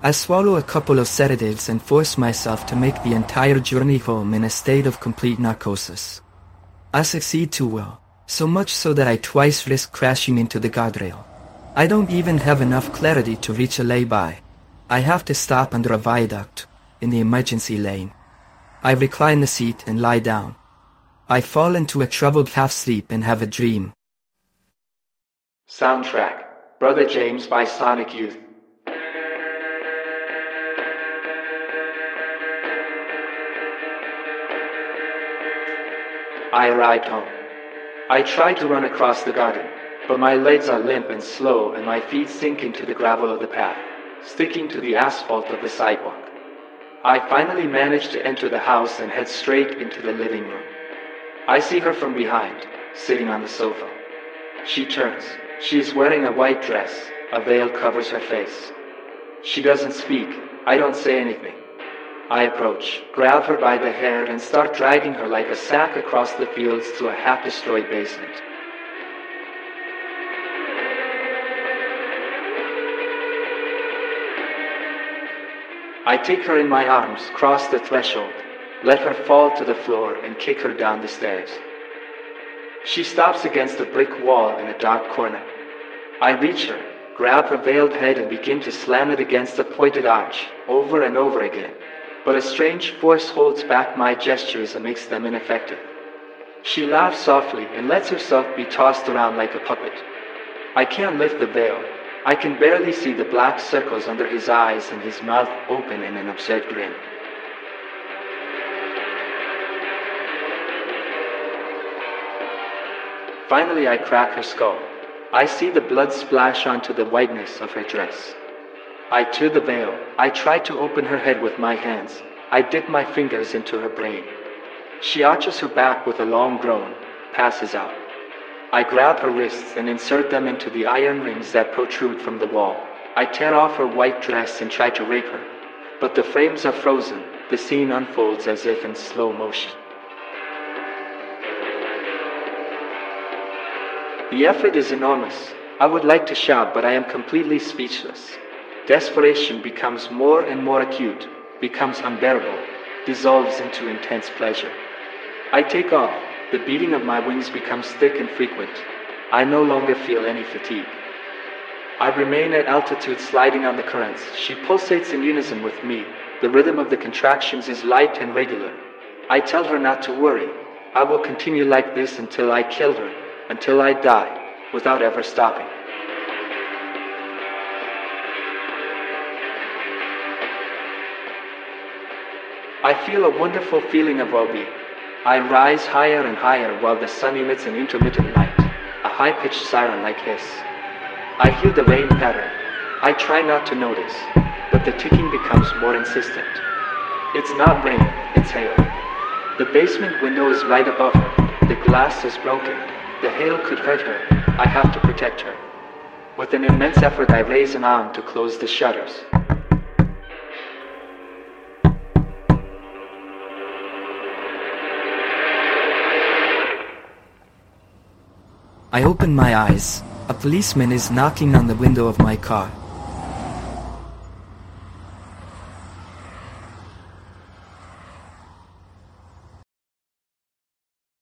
I swallow a couple of sedatives and force myself to make the entire journey home in a state of complete narcosis. I succeed too well, so much so that I twice risk crashing into the guardrail. I don't even have enough clarity to reach a lay-by. I have to stop under a viaduct, in the emergency lane. I recline the seat and lie down. I fall into a troubled half-sleep and have a dream. Soundtrack, Brother James by Sonic Youth. I arrived home. I tried to run across the garden, but my legs are limp and slow and my feet sink into the gravel of the path, sticking to the asphalt of the sidewalk. I finally managed to enter the house and head straight into the living room. I see her from behind, sitting on the sofa. She turns. She is wearing a white dress. A veil covers her face. She doesn't speak. I don't say anything. I approach, grab her by the hair, and start dragging her like a sack across the fields to a half-destroyed basement. I take her in my arms, cross the threshold, let her fall to the floor, and kick her down the stairs. She stops against a brick wall in a dark corner. I reach her, grab her veiled head, and begin to slam it against the pointed arch, over and over again. But a strange force holds back my gestures and makes them ineffective. She laughs softly and lets herself be tossed around like a puppet. I can't lift the veil. I can barely see the black circles under his eyes and his mouth open in an absurd grin. Finally, I crack her skull. I see the blood splash onto the whiteness of her dress. I tear the veil. I try to open her head with my hands. I dip my fingers into her brain. She arches her back with a long groan, passes out. I grab her wrists and insert them into the iron rings that protrude from the wall. I tear off her white dress and try to rape her. But the frames are frozen. The scene unfolds as if in slow motion. The effort is enormous. I would like to shout, but I am completely speechless. Desperation becomes more and more acute, becomes unbearable, dissolves into intense pleasure. I take off. The beating of my wings becomes thick and frequent. I no longer feel any fatigue. I remain at altitude, sliding on the currents. She pulsates in unison with me. The rhythm of the contractions is light and regular. I tell her not to worry. I will continue like this until I kill her, until I die, without ever stopping. I feel a wonderful feeling of well-being. I rise higher and higher while the sun emits an intermittent light, a high-pitched siren-like hiss. I hear the rain patter. I try not to notice, but the ticking becomes more insistent. It's not rain, it's hail. The basement window is right above her. The glass is broken. The hail could hurt her. I have to protect her. With an immense effort, I raise an arm to close the shutters. I open my eyes. A policeman is knocking on the window of my car.